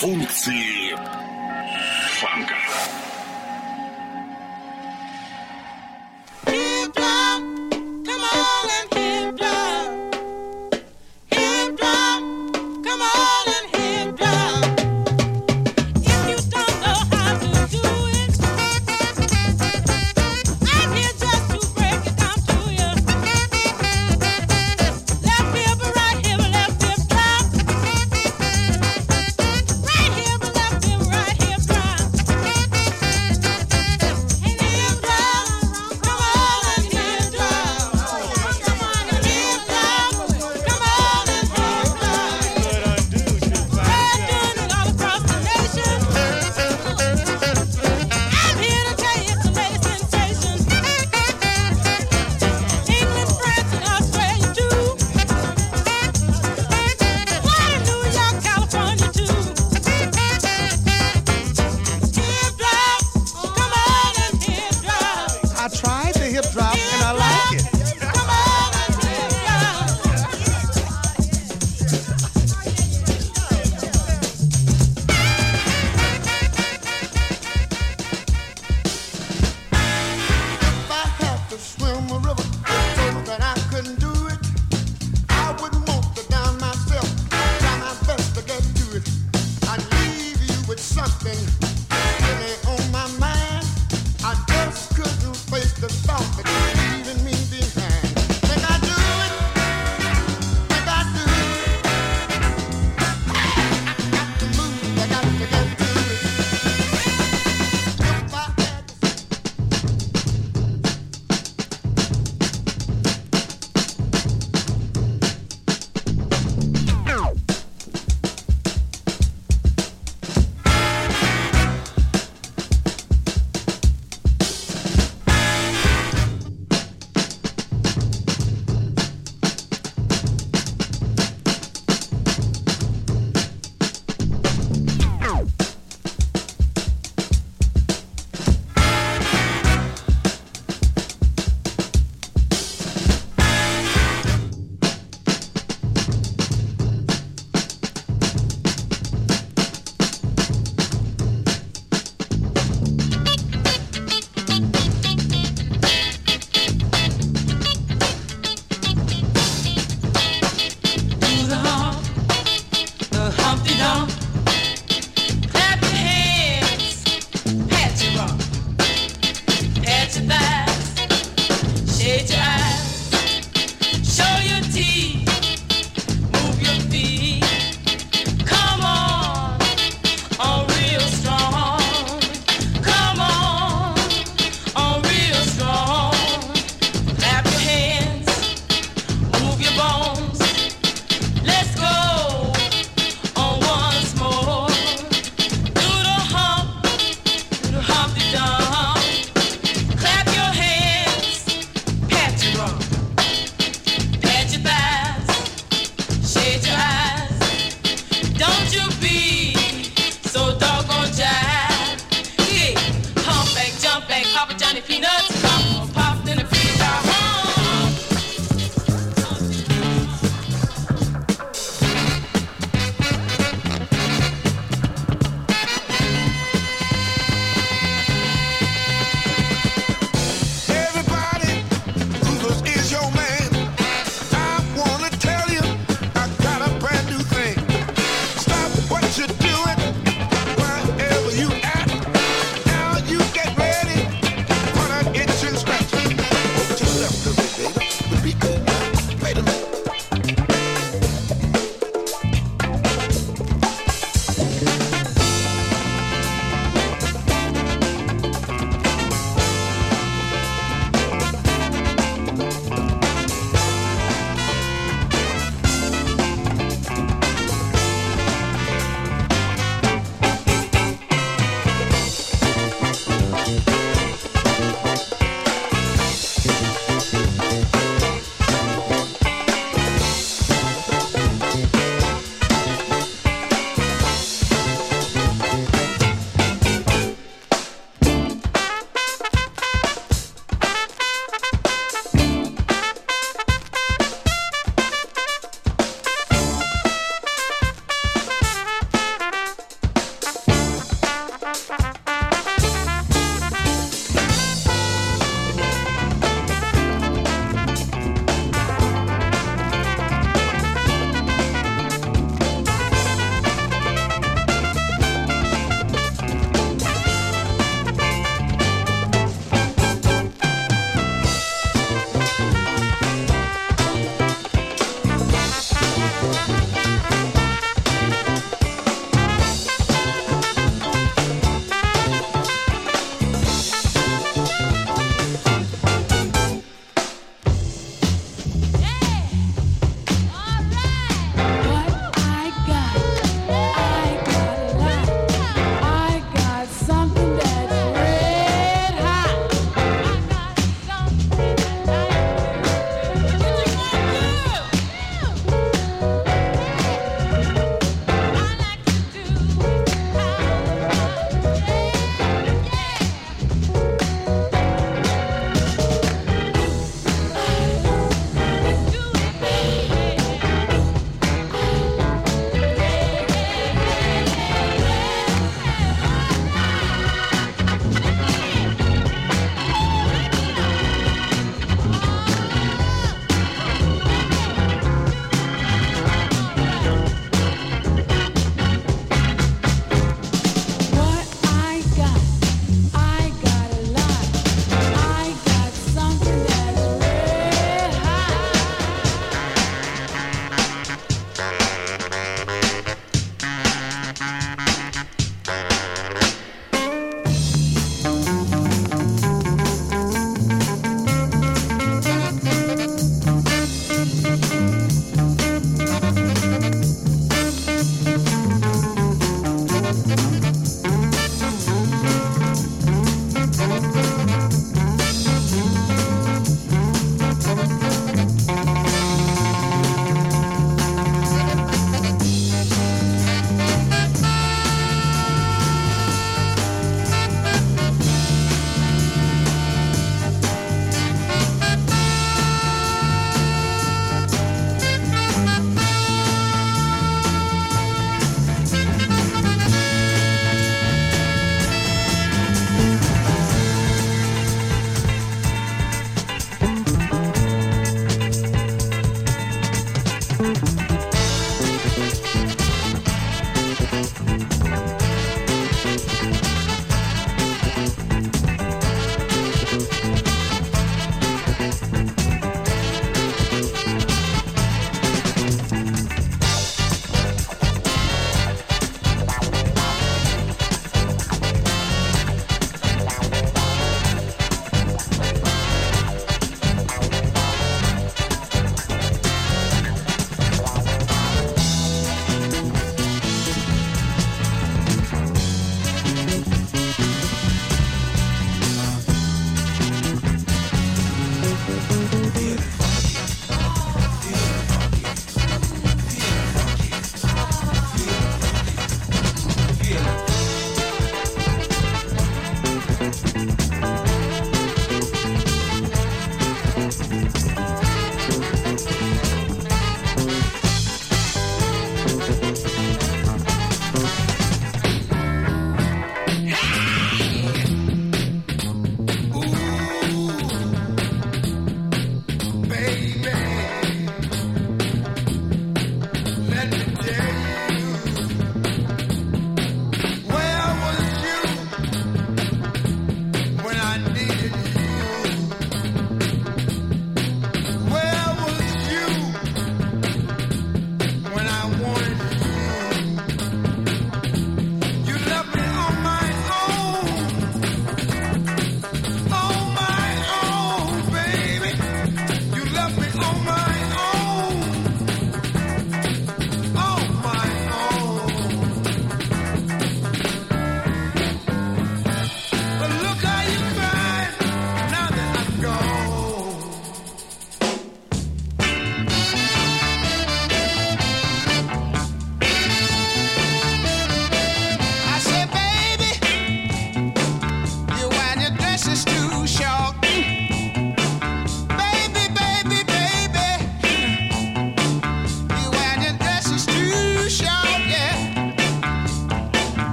Функции фанка.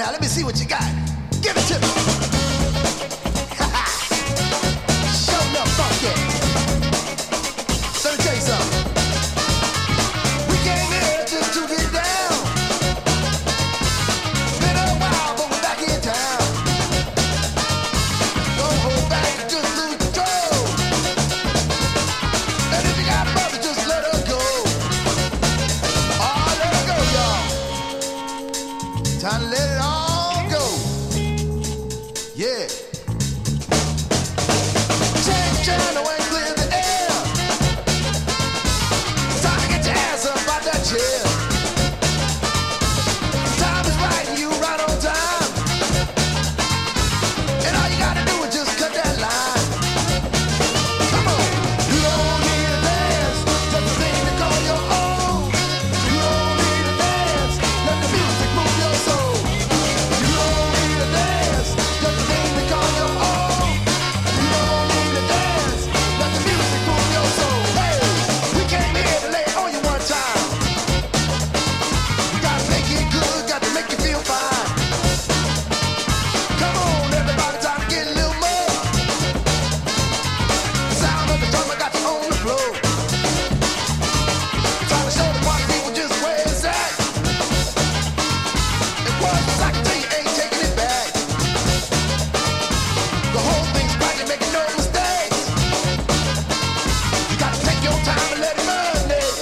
now, let me see what you got. Give it to me. Show enough funky. Let me tell you something. We came here just to get down. Been a while, but we're back in town. Don't hold back, just lose control. And if you got a brother, just let her go. Oh, let her go, y'all. Time to let it all go. Yeah. Change channel and clear the air. It's time to get your ass up out that chair. Time is right and you right on time. And all you gotta do is just cut that line. Come on. You don't need a dance, just a thing to call your own. You don't need a dance, let the music move your soul. You don't need a dance, just a thing to call your own. You don't need a dance, let the music move your soul. Hey, we came here to lay it on you one time. We gotta make it good, got to make you feel fine. Come on, everybody, time to get a little more. The sound of the drummer got you on the floor. Trying to show the party people just where it's at. It was like I tell you, ain't taking it back. The whole thing's right, you're making no mistakes. You gotta take your time and let it marinate.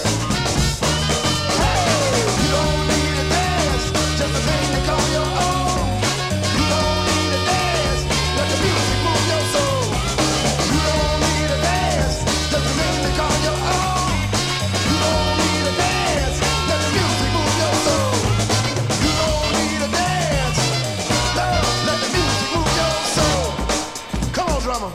Hey, you don't need a dance, just a thing to call your own. You don't need a dance, let the music move your soul. You don't need a dance, just a thing to call your own. You don't need a dance, let the music move your soul. You don't need a dance, love, let the music move your soul. Come on, drummer.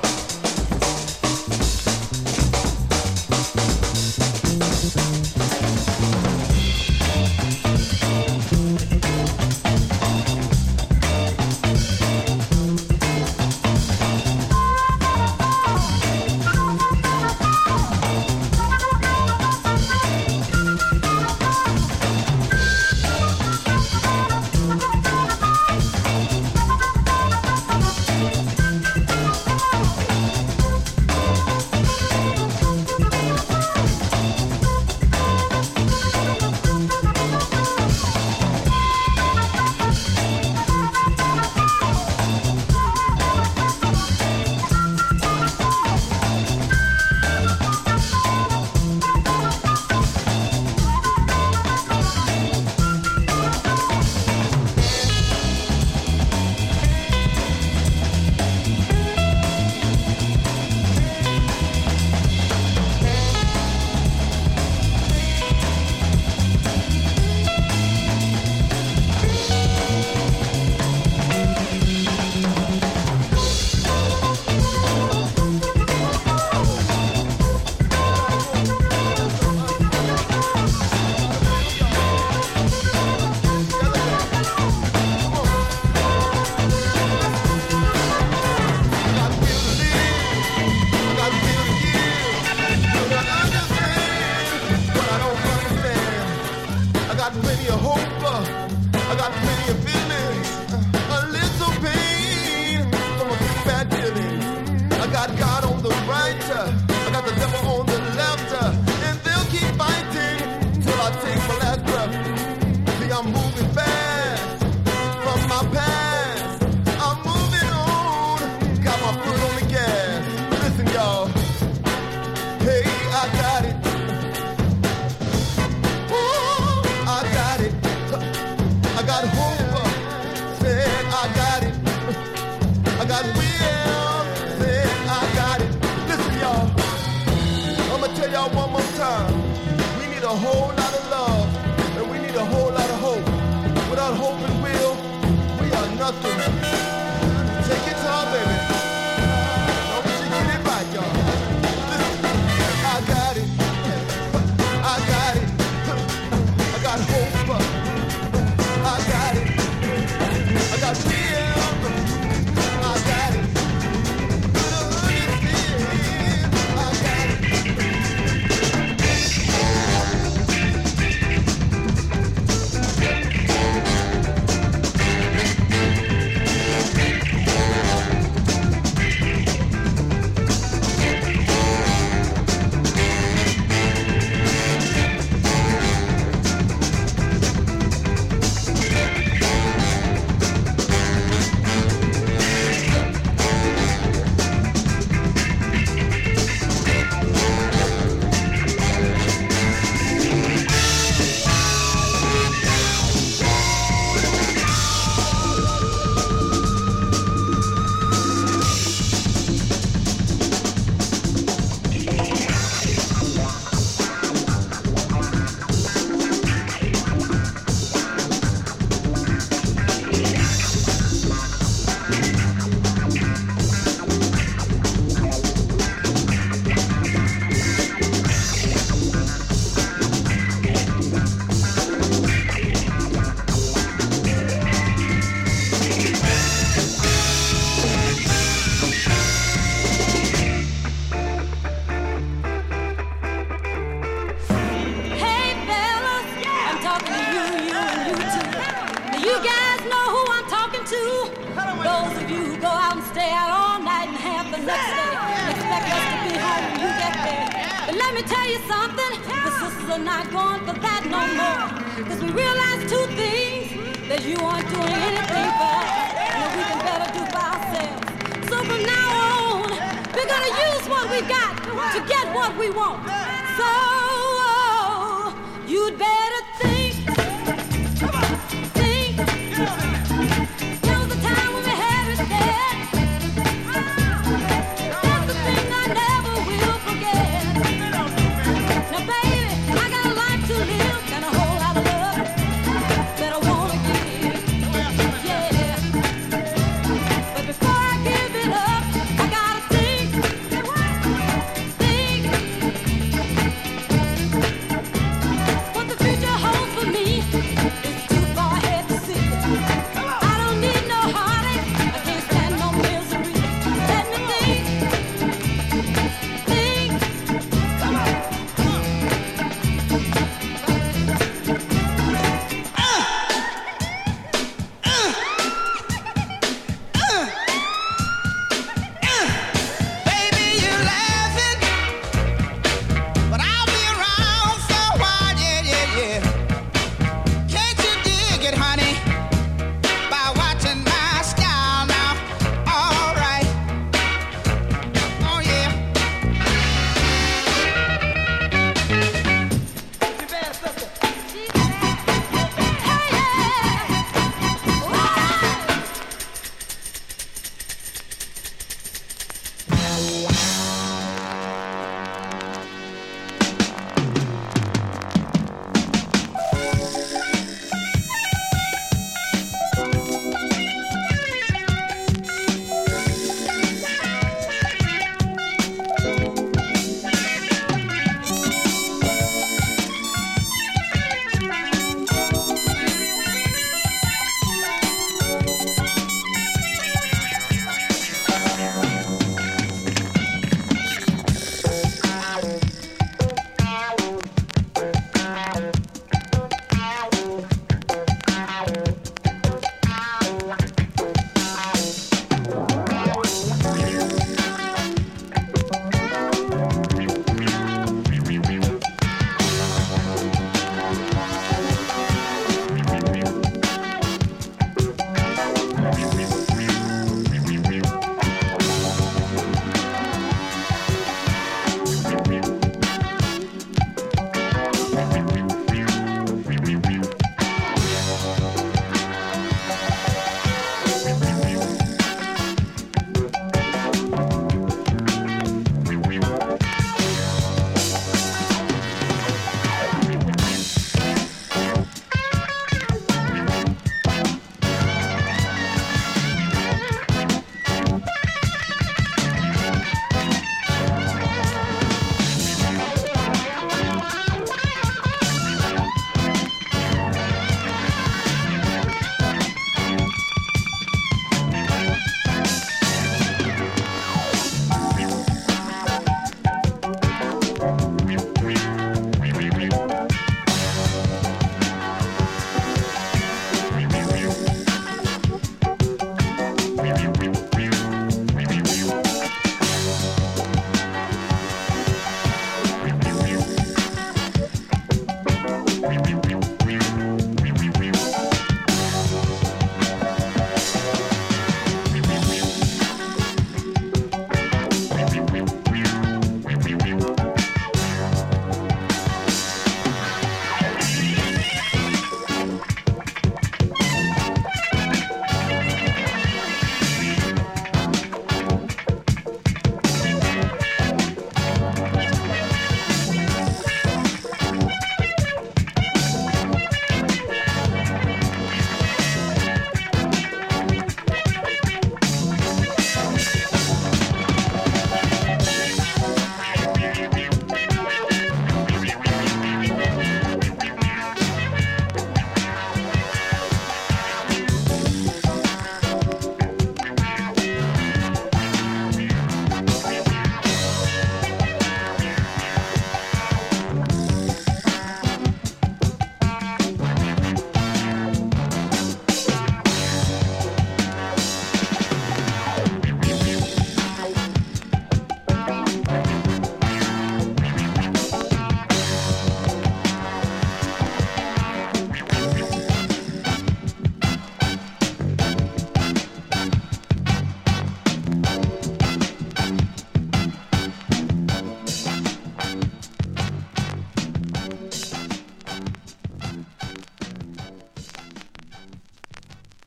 me tell you something. The sisters are not going for that no more. Cause we realize two things. That you aren't doing anything for us. And that we can better do for ourselves. So from now on, we're gonna use what we got to get what we want. So you'd better